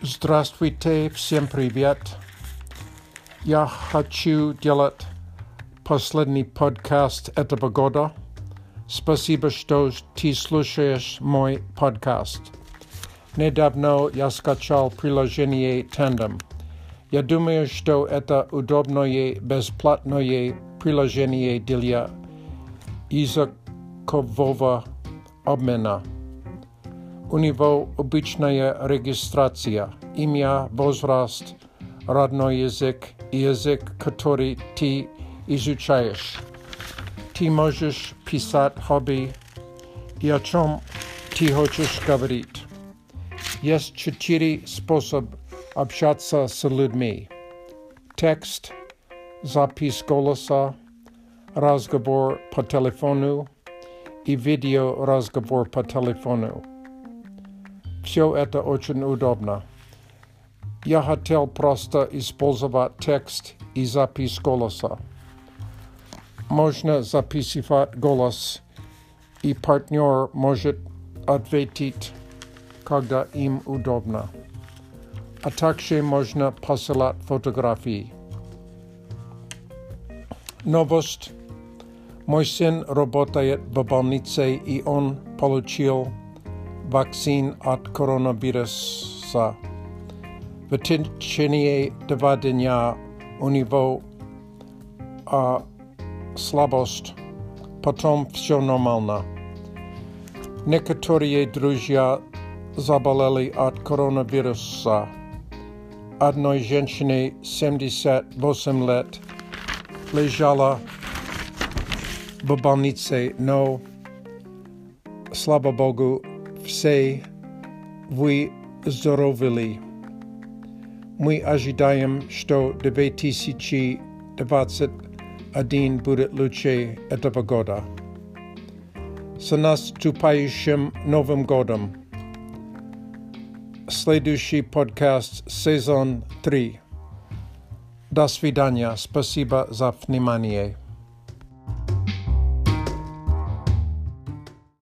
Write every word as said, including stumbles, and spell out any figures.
Здравствуйте, всем привет. Я хочу делать последний подкаст этого года. Спасибо, что ты слушаешь мой подкаст. Недавно я скачал приложение Tandem. Я думаю, что это удобное бесплатное приложение для языкового обмена. У него обычная регистрация, имя, возраст, родной язык и язык, который ты изучаешь. Ты можешь писать хобби и о чем ты хочешь говорить. Есть четыре способа общаться с людьми. Текст, запись голоса, разговор по телефону и видеоразговор по телефону. Все это очень удобно. Я хотел просто использовать текст и запись голоса. Можно записывать голос, и партнер может ответить, когда им удобно. А также можно посылать фотографии. Новость. Мой сын работает в больнице, и он получил вакцин от коронавируса. В течение два дня у него а, слабость, потом все нормально. Некоторые друзья заболели от коронавируса. Одной женщине семьдесят восемь лет лежала в больнице, но, слава Богу, все выздоровели. Мы ожидаем, что две тысячи двадцать один будет лучше этого года. С наступающим Новым годом! Следующий подкаст сезон три. До свидания. Спасибо за внимание.